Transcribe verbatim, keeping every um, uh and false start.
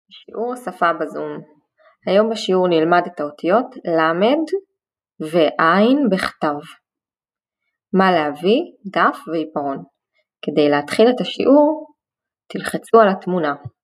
שיעור שפה בזום. היום בשיעור נלמד את האותיות למד ועין בכתב. מה להביא? דף ועיפרון. כדי להתחיל את השיעור תלחצו על התמונה.